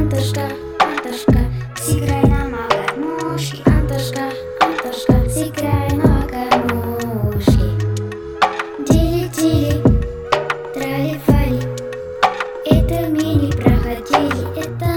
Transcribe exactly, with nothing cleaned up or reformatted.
Антошка, Антошка, сыграй нам о гармошке. Антошка, Антошка, сыграй на гармошке. Тили-тили, трали-фали, это мы не проходили, это